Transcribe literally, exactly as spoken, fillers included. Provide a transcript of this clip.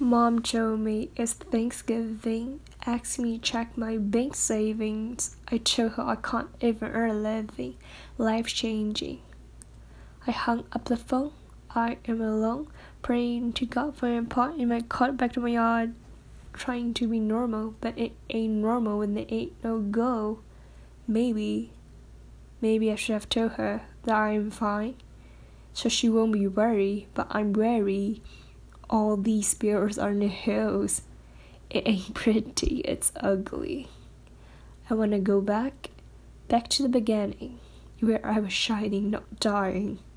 Mom told me it's Thanksgiving, asked me to check my bank savings. I told her I can't even earn a living. Life changing. I hung up the phone. I am alone, praying to God for a part in my car back to my yard, trying to be normal, but it ain't normal when there ain't no go. Maybe, maybe I should have told her that I'm fine, so she won't be worried, but I'm worried. All these bills are in the hills. It ain't pretty, it's ugly. I want to go back, back to the beginning, where I was shining, not dying.